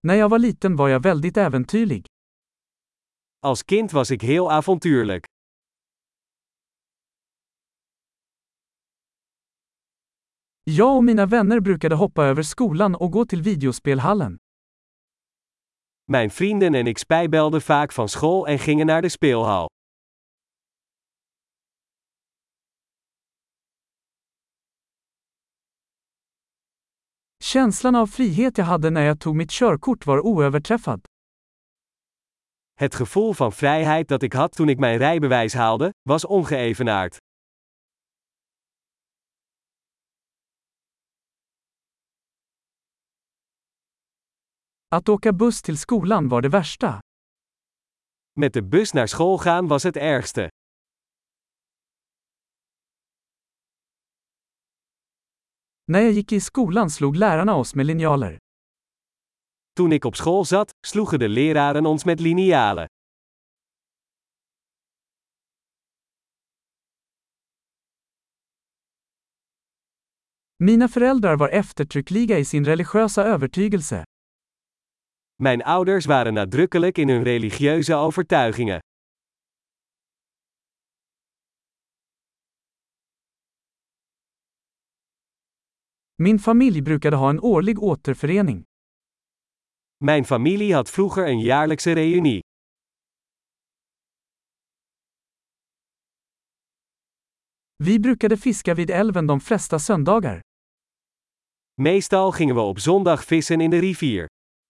När jag var liten var jag väldigt äventyrlig. Als kind was ik heel avontuurlijk. Jag och mina vänner brukade hoppa över skolan och gå till videospelhallen. Mijn vrienden en ik spijbelden vaak van school en gingen naar de speelhal. Känslan av frihet jag hade när jag tog mitt körkort var oöverträffad. Het gevoel van vrijheid dat ik had toen ik mijn rijbewijs haalde, was ongeëvenaard. Att åka buss till skolan var det värsta. Met de bus naar school gaan was het ergste. När jag gick i skolan slog lärarna oss med linjaler. Toen ik op school zat, sloegen de leraren ons met linialen. Mina föräldrar var eftertryckliga i sin religiösa övertygelse. Mijn ouders waren nadrukkelijk in hun religieuze overtuigingen. Min familj brukade ha en årlig återförening. Mijn familie had vroeger een jaarlijkse reunie. Vi brukade fiska vid älven de flesta söndagar. Meestal gingen we op zondag vissen in de rivier.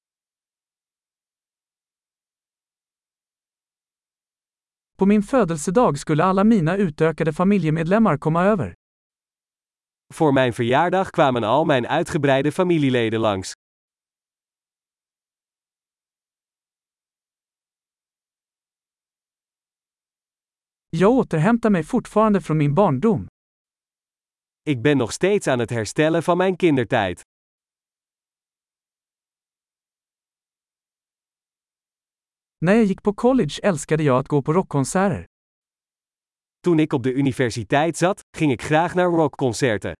På min födelsedag skulle alla mina utökade familjemedlemmar komma över. Voor mijn verjaardag kwamen al mijn uitgebreide familieleden langs. Jag återhämtar mig fortfarande från min barndom. Ik ben nog steeds aan het herstellen van mijn kindertijd. När jag gick på college älskade jag att gå på rockkonserter. Toen ik op de universiteit zat, ging ik graag naar rockconcerten.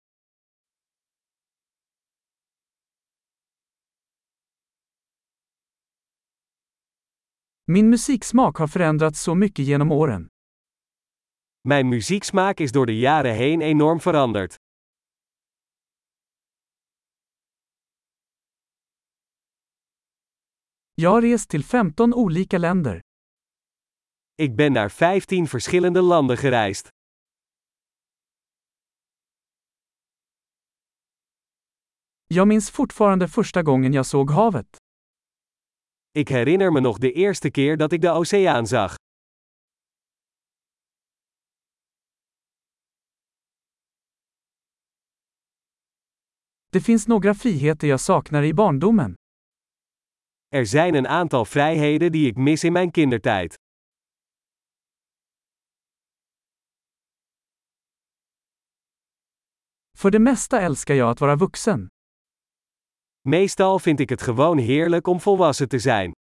Min musiksmak har förändrats så mycket genom åren. Mijn muzieksmaak is door de jaren heen enorm veranderd. Jag har rest till 15 olika länder. Ik ben naar 15 verschillende landen gereisd. Jag minns fortfarande första gången jag såg havet. Ik herinner me nog de eerste keer dat ik de oceaan zag. Det finns några friheter jag saknar i barndomen. Er zijn een aantal vrijheden die ik mis in mijn kindertijd. För det mesta älskar jag att vara vuxen. Meestal vind ik het gewoon heerlijk om volwassen te zijn.